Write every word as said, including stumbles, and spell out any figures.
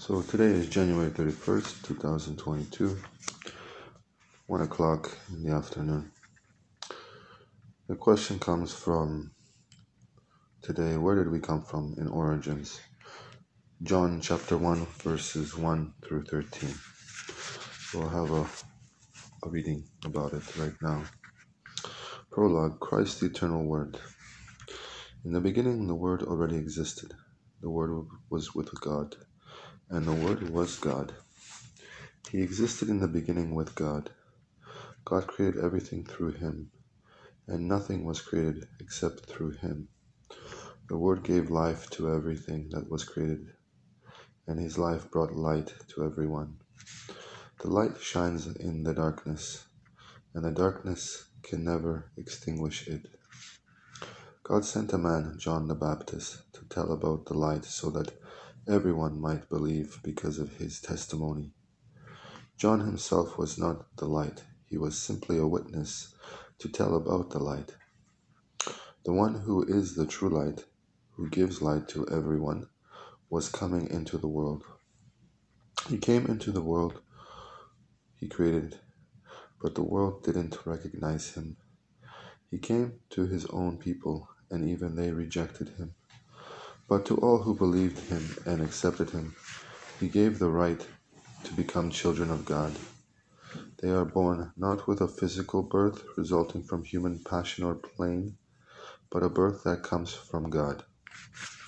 So today is January thirty-first, two thousand twenty-two, one o'clock in the afternoon. The question comes from today, where did we come from in origins? John chapter one, verses one through thirteen. We'll have a, a reading about it right now. Prologue, Christ the eternal word. In the beginning the word already existed. The word was with God, and the word was God. He existed in the beginning with God. God created everything through him, and nothing was created except through him. The Word gave life to everything that was created, and his life brought light to everyone. The light shines in the darkness, and the darkness can never extinguish it. God sent a man, John the Baptist, to tell about the light so that everyone might believe because of his testimony. John himself was not the light. He was simply a witness to tell about the light. The one who is the true light, who gives light to everyone, was coming into the world. He came into the world he created, but the world didn't recognize him. He came to his own people, and even they rejected him. But to all who believed him and accepted him, he gave the right to become children of God. They are born not with a physical birth resulting from human passion or pain, but a birth that comes from God.